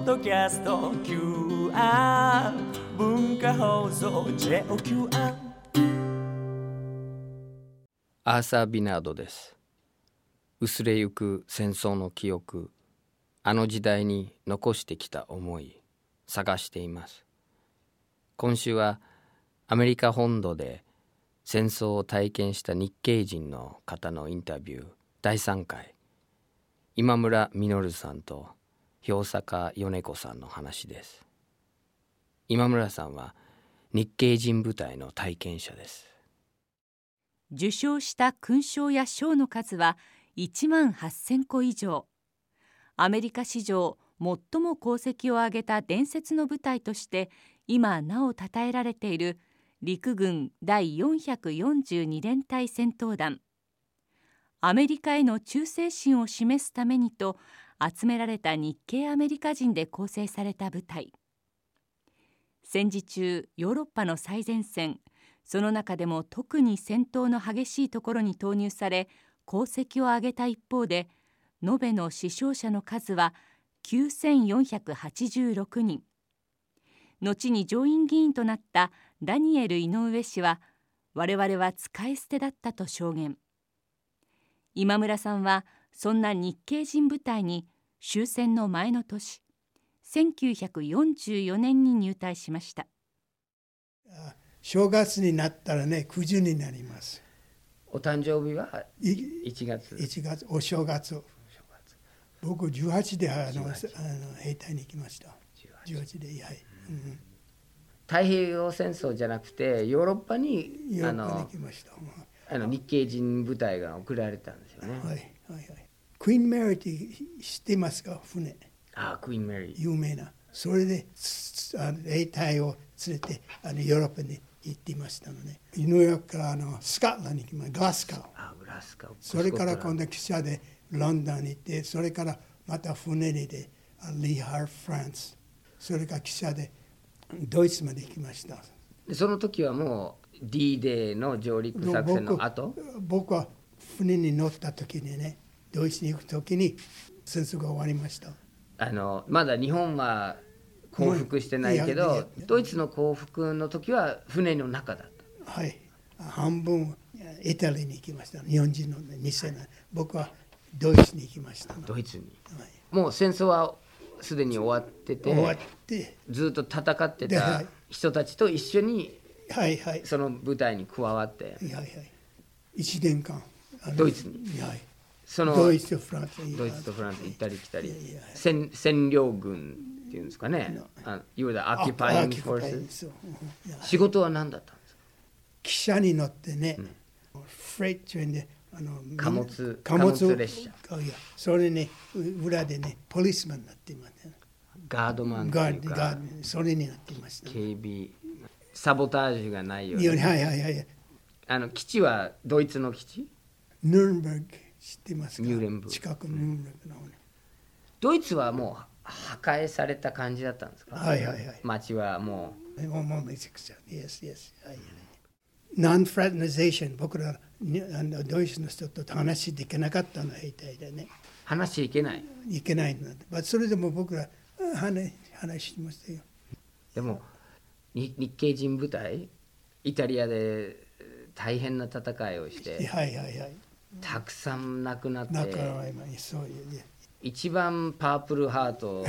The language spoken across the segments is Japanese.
ドキャスト QR 文化放送 JOQR アーサー・ビナードです。薄れゆく戦争の記憶、あの時代に残してきた思い、探しています。今週はアメリカ本土で戦争を体験した日系人の方のインタビュー第3回、今村実さんと氷坂米子さんの話です。今村さんは日系人部隊の体験者です。 受賞した勲章や賞の数は1万8000個以上。アメリカ史上最も功績を挙げた伝説の部隊として今なお称えられている陸軍第442連隊戦闘団。アメリカへの忠誠心を示すためにと集められた日系アメリカ人で構成された部隊。戦時中、ヨーロッパの最前線、その中でも特に戦闘の激しいところに投入され、功績を挙げた一方で、延べの死傷者の数は9486人。後に上院議員となったダニエル・井上氏は、我々は使い捨てだったと証言。今村さんは、そんな日系人部隊に終戦の前の年、1944年に入隊しました。 正月になったらね、90になります。 お誕生日は1月。 1月、お正月。僕18で兵隊に行きました。18で、はい。 太平洋戦争じゃなくてヨーロッパに行きました。 日系人部隊が送られたんですよね。 はいはいはい。クイーン・メリーって知ってますか、船。 クイーン・メリー。 有名な。それで兵隊を連れてヨーロッパに行っていましたのね。ニューヨークからスコットランドに行きました。グラスゴー。それから今度汽車でロンドンに行って、それからまた船でリハーフランス、それから汽車でドイツまで行きました。 その時はもう D デーの上陸作戦の後？ 僕は船に乗った時にね、ドイツに行く時に戦争が終わりました。 まだ日本は降伏してないけど、ドイツの降伏の時は船の中だった。 はい、半分イタリアに行きました。日本人の2世の、僕はドイツに行きました。 ドイツに、 はい、 もう戦争はすでに終わってて、ずっと戦ってた人たちと一緒に、 はいはい、 その部隊に加わって、 はいはい、1年間ドイツに、 はい、 ドイツとフランス行ったり来たり、占領軍っていうんですかね、いわゆるOccupying Forces。仕事は何だったんですか？ 汽車に乗ってね、フレイトトレインで貨物列車。 それね、裏でね、ポリスマンになっていますね。 ガードマンというか、 それになっていました、ね。 警備、サボタージュがないように。 はいはいはい。 基地はドイツの基地？ ニューレンブルク知ってますか？ ニューレンブルク。 近くのニューレンブルクの方ね。 ドイツはもう破壊された感じだったんですか？ はいはいはい。 街はもう。 もうめちゃくちゃ。Yes, yes。ノンフラテナゼーション、僕らドイツの人と話できなかったの、兵隊でね。 話いけないの。それでも僕ら話しましたよ。 でも日系人部隊、イタリアで大変な戦いをして、 はいはいはい、 たくさん亡くなって、 そういう、 一番パープルハート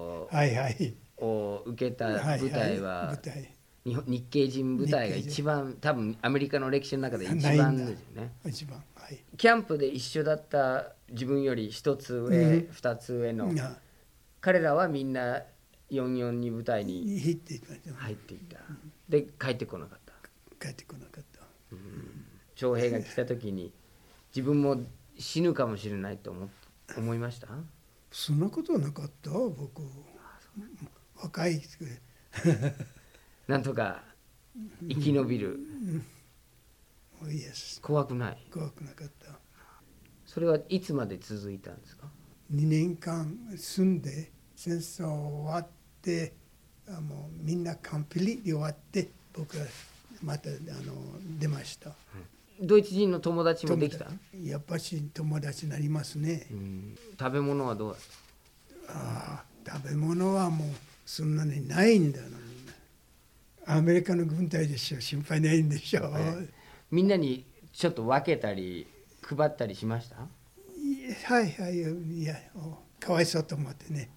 を受けた部隊は日系人部隊が一番、多分アメリカの歴史の中で一番ですよね。 一番、はい、 キャンプで一緒だった自分より一つ上、二つ上の彼らはみんな442部隊に入っていった。で帰ってこなかった。徴兵が来た時に自分も死ぬかもしれないと思いました？ そんなことはなかった。僕若いなんとか生き延びる。怖くない？ 怖くなかった。 それはいつまで続いたんですか ？2年間住んで、戦争終わって、もうみんな完璧に終わって、僕はまた出ました。 ドイツ人の友達もできた？ やっぱし友達になりますね。 食べ物はどうだった？ 食べ物はもうそんなにないんだよ。アメリカの軍隊でしょ、心配ないんでしょ。 みんなにちょっと分けたり配ったりしました？ はいはい、いや、かわいそうと思ってね。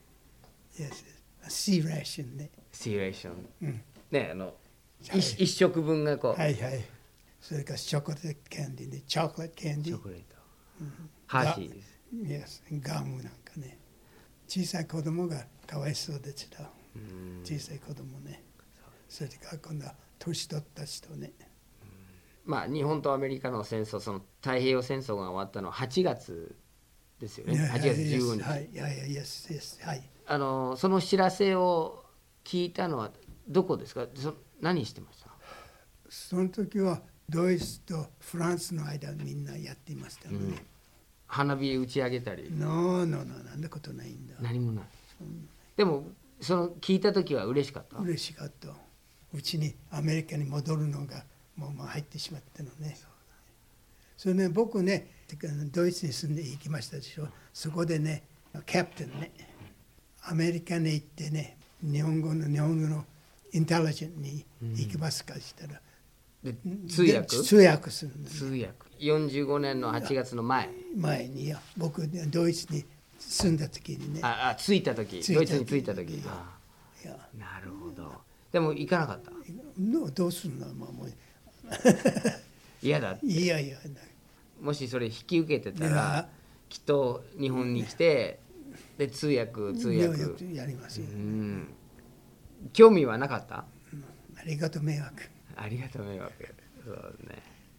シーラーションね。 シーラーション。ね、一食分がこう。 はいはい。それからチョコレートキャンディーね、チョコレートキャンディー。 チョコレート。ハーシーです。 ガムなんかね。小さい子供がかわいそうですよ。小さい子供ね。それから今度は年取った人ね。 まあ日本とアメリカの戦争、その太平洋戦争が終わったのは8月ですよね。8月15日。 はい、はい。 その知らせを聞いたのはどこですか？何してました？ その時はドイツとフランスの間みんなやっていましたね。 花火打ち上げたり。 なんなことないんだ。 何もない。でも聞いた時は嬉しかった？ 嬉しかった。うちにアメリカに戻るのがもう入ってしまったのね。それね、僕ねドイツに住んで行きましたでしょ。そこでねキャプテンねアメリカに行ってね日本語のインテリジェントに行きますかしたら、 通訳するんです、 通訳45年の8月の前に僕ドイツに住んだ時にね着いた時ドイツに着いた時なるほど。でも行かなかった？ どうするの？もう嫌だって。いやもしそれ引き受けてたらきっと日本に来てで通訳やりますよ。 興味はなかった？ ありがとう迷惑。 そうね。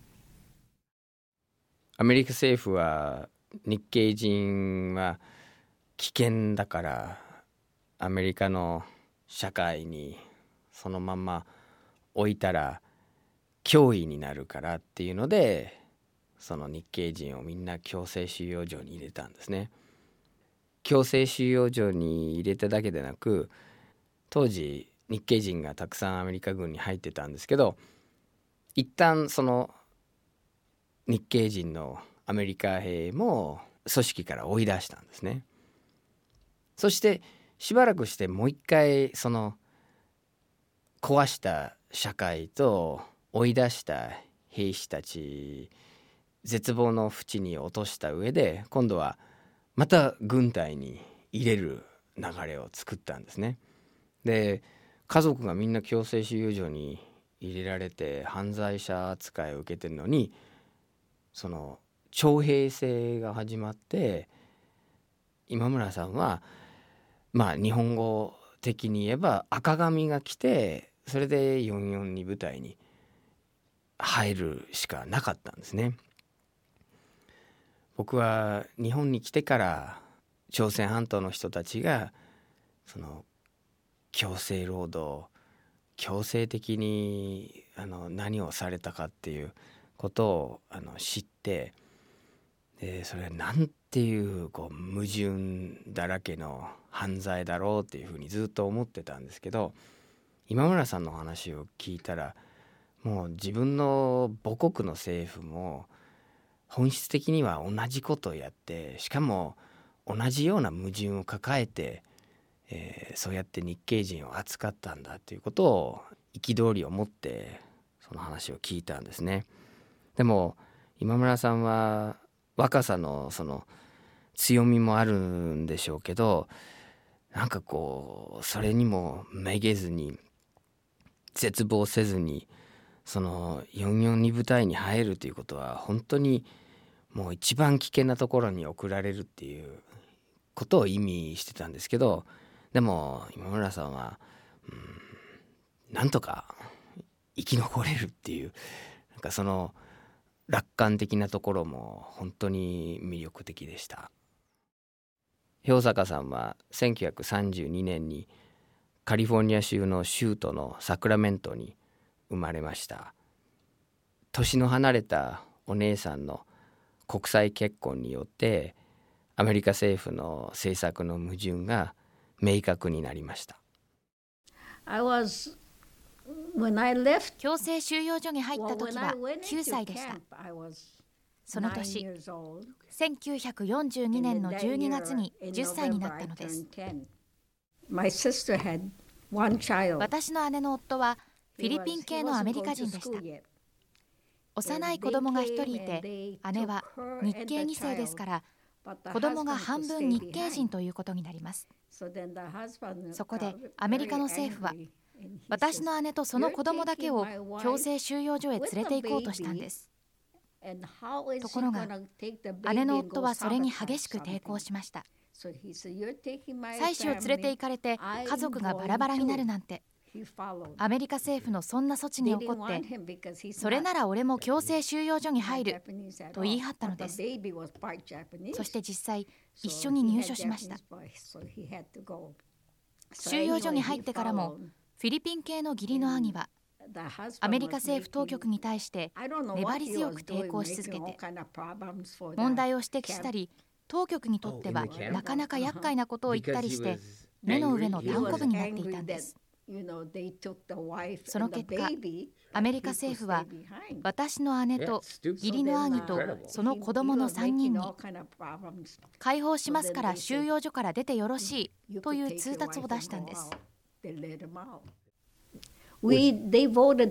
アメリカ政府は日系人は危険だからアメリカの社会にそのまま置いたら脅威になるからっていうのでその日系人をみんな強制収容所に入れたんですね。強制収容所に入れただけでなく当時日系人がたくさんアメリカ軍に入ってたんですけど一旦その日系人のアメリカ兵も組織から追い出したんですね。そしてしばらくしてもう一回その壊した社会と追い出した兵士たち絶望の淵に落とした上で今度はまた軍隊に入れる流れを作ったんですね。で家族がみんな強制収容所に入れられて犯罪者扱いを受けてるのにその徴兵制が始まって今村さんはまあ日本語的に言えば赤紙が来てそれで442部隊に入るしかなかったんですね。僕は日本に来てから朝鮮半島の人たちがその強制労働強制的に何をされたかっていうことを知ってでそれなんていう矛盾だらけの犯罪だろうっていうふうにずっと思ってたんですけど今村さんの話を聞いたらもう自分の母国の政府も本質的には同じことをやってしかも同じような矛盾を抱えて、そうやって日系人を扱ったんだということを憤りを持ってその話を聞いたんですね。でも今村さんは若さのその強みもあるんでしょうけどなんかそれにもめげずに絶望せずにその442部隊に入るということは本当にもう一番危険なところに送られるっていうことを意味してたんですけどでも今村さんはなんとか生き残れるっていうなんかその楽観的なところも本当に魅力的でした。氷坂さんは1932年にカリフォルニア州の州都のサクラメントに生まれました。年の離れたお姉さんの国際結婚によってアメリカ政府の政策の矛盾が明確になりました。 強制収容所に入った時は9歳でした。その年、1942年の12月に10歳になったのです。 私の姉の夫はフィリピン系のアメリカ人でした。幼い子供が1人いて、姉は日系2世ですから子供が半分日系人ということになります。そこでアメリカの政府は私の姉とその子供だけを強制収容所へ連れて行こうとしたんです。ところが姉の夫はそれに激しく抵抗しました。妻子を連れて行かれて家族がバラバラになるなんて、アメリカ政府のそんな措置に怒って、それなら俺も強制収容所に入ると言い張ったのです。そして実際一緒に入所しました。収容所に入ってからもフィリピン系の義理の兄はアメリカ政府当局に対して粘り強く抵抗し続けて、問題を指摘したり、当局にとってはなかなか厄介なことを言ったりして目の上のたんこぶになっていたんです。その結果、アメリカ政府は私の姉と義理の兄とその子供の3人に解放しますから収容所から出てよろしいという通達を出したんです。 姉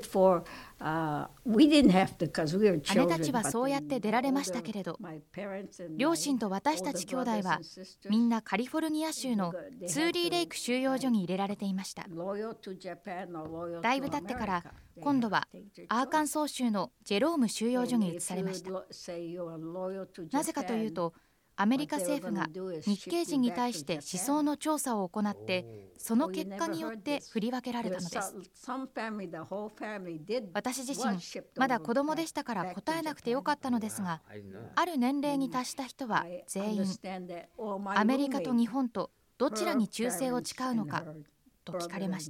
たちはそうやって出られましたけれど、両親と私たち兄弟はみんなカリフォルニア州のツーリーレイク収容所に入れられていました。だいぶ経ってから今度はアーカンソー州のジェローム収容所に移されました。なぜかというと、アメリカ政府が日系人に対して思想の調査を行って、その結果によって振り分けられたのです。私自身まだ子供でしたから答えなくてよかったのですが、ある年齢に達した人は全員アメリカと日本とどちらに忠誠を誓うのかと聞かれました。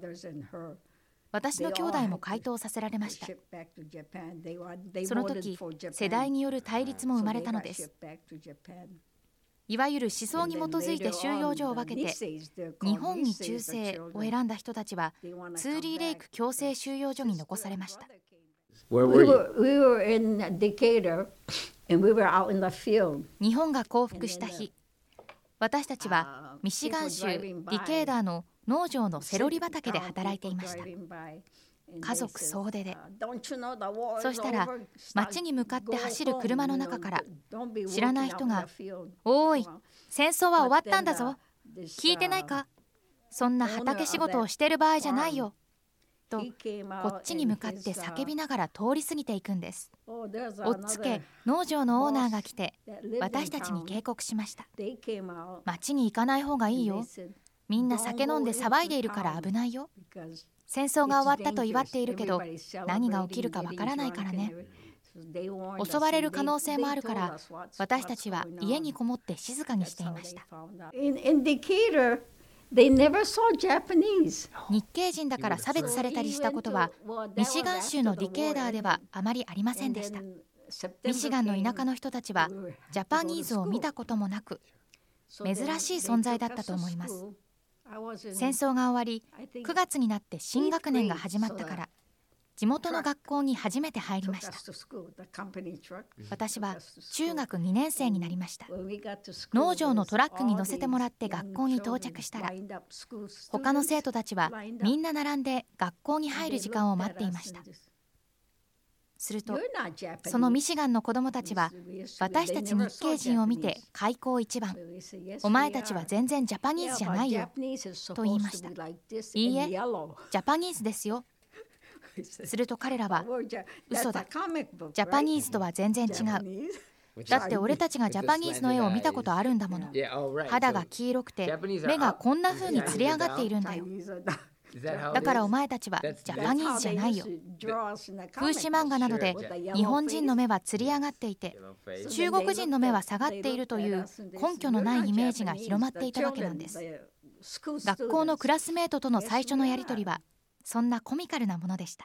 私の兄弟も回答させられました。その時、世代による対立も生まれたのです。いわゆる思想に基づいて収容所を分けて、日本に忠誠を選んだ人たちはツーリーレイク強制収容所に残されました。日本が降伏した日、私たちはミシガン州ディケーダーの農場のセロリ畑で働いていました。家族総出で。そしたら町に向かって走る車の中から知らない人が「おーい、戦争は終わったんだぞ、聞いてないか、そんな畑仕事をしてる場合じゃないよ」とこっちに向かって叫びながら通り過ぎていくんです。おっつけ農場のオーナーが来て私たちに警告しました。町に行かない方がいいよ、みんな酒飲んで騒いでいるから危ないよ。戦争が終わったと祝っているけど何が起きるかわからないからね。襲われる可能性もあるから私たちは家にこもって静かにしていました。日系人だから差別されたりしたことはミシガン州のディケーダーではあまりありませんでした。ミシガンの田舎の人たちはジャパニーズを見たこともなく珍しい存在だったと思います。戦争が終わり9月になって新学年が始まったから地元の学校に初めて入りました。私は中学2年生になりました。農場のトラックに乗せてもらって学校に到着したら他の生徒たちはみんな並んで学校に入る時間を待っていました。するとそのミシガンの子どもたちは私たち日系人を見て開口一番、お前たちは全然ジャパニーズじゃないよと言いました。いいえ、ジャパニーズですよ。すると彼らは嘘だ、ジャパニーズとは全然違う、だって俺たちがジャパニーズの絵を見たことあるんだもの。肌が黄色くて目がこんな風につり上がっているんだよ。だからお前たちはジャパニーズじゃないよ。風刺漫画などで日本人の目はつり上がっていて中国人の目は下がっているという根拠のないイメージが広まっていたわけなんです。学校のクラスメートとの最初のやり取りはそんなコミカルなものでした。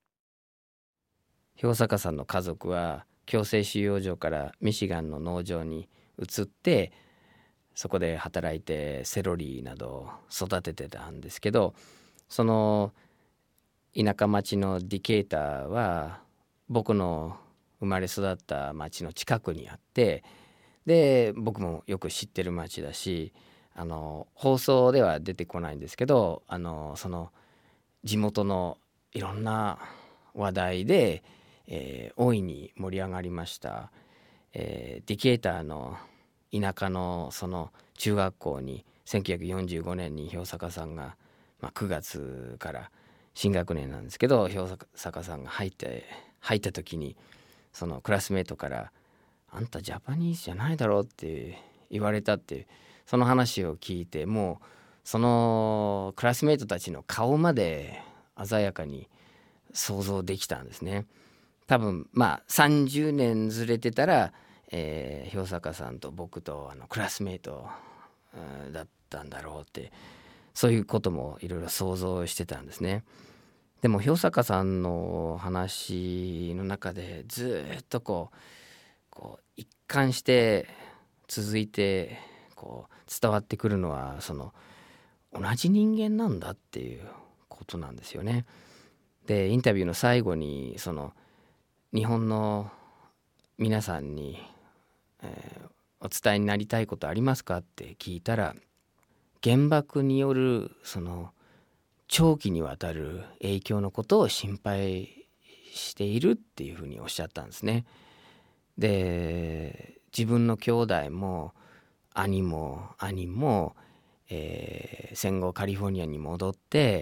氷坂さんの家族は強制収容所からミシガンの農場に移ってそこで働いてセロリなどを育ててたんですけど、その田舎町のディケーターは僕の生まれ育った町の近くにあって、で僕もよく知ってる町だし、 放送では出てこないんですけど、その地元のいろんな話題で、大いに盛り上がりました。ディケーターの田舎のその中学校に1945年に氷坂さんが、9月から新学年なんですけど、氷坂さんが入った時にそのクラスメートから「あんたジャパニーズじゃないだろ」って言われたっていう、その話を聞いて、もうそのクラスメートたちの顔まで鮮やかに想像できたんですね。多分30年ずれてたら、氷坂さんと僕とクラスメートだったんだろうって、そういうこともいろいろ想像してたんですね。でも氷坂さんの話の中でずっとこう一貫して続いて伝わってくるのは、その同じ人間なんだっていうことなんですよね。でインタビューの最後にその日本の皆さんに、お伝えになりたいことありますかって聞いたら、原爆によるその長期にわたる影響のことを心配しているっていうふうにおっしゃったんですね。で自分の兄弟も兄も戦後カリフォルニアに戻って、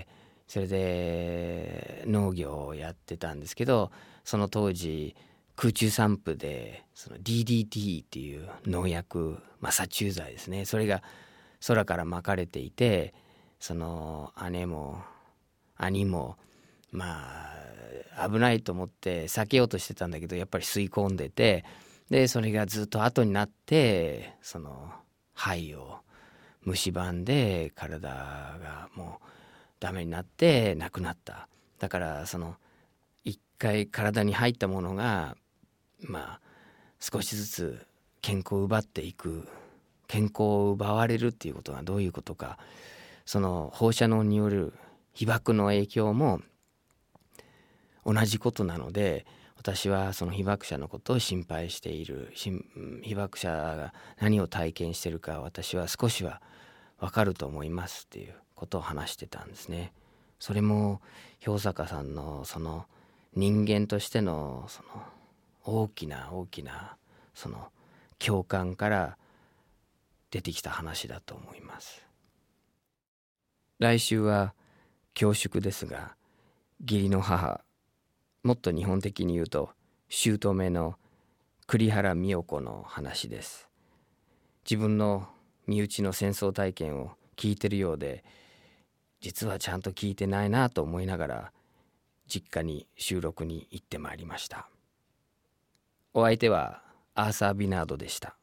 それで農業をやってたんですけど、その当時空中散布でその DDT っていう農薬、殺虫剤ですね、それが空から撒かれていて、その姉も兄も危ないと思って避けようとしてたんだけど、やっぱり吸い込んでて、でそれがずっと後になってその肺を蝕んで体がもうダメになって亡くなった。だからその一回体に入ったものが少しずつ健康を奪っていく、健康を奪われるっていうことがどういうことか、その放射能による被爆の影響も同じことなので、私はその被爆者のことを心配している。被爆者が何を体験しているか私は少しは分かると思いますっていうことを話してたんですね。それも氷坂さんのその人間としてのその大きなその共感から出てきた話だと思います。来週は恐縮ですが、義理の母、もっと日本的に言うと姑の栗原美代子の話です。自分の身内の戦争体験を聞いてるようで、実はちゃんと聞いてないなと思いながら実家に収録に行ってまいりました。お相手はアーサー・ビナードでした。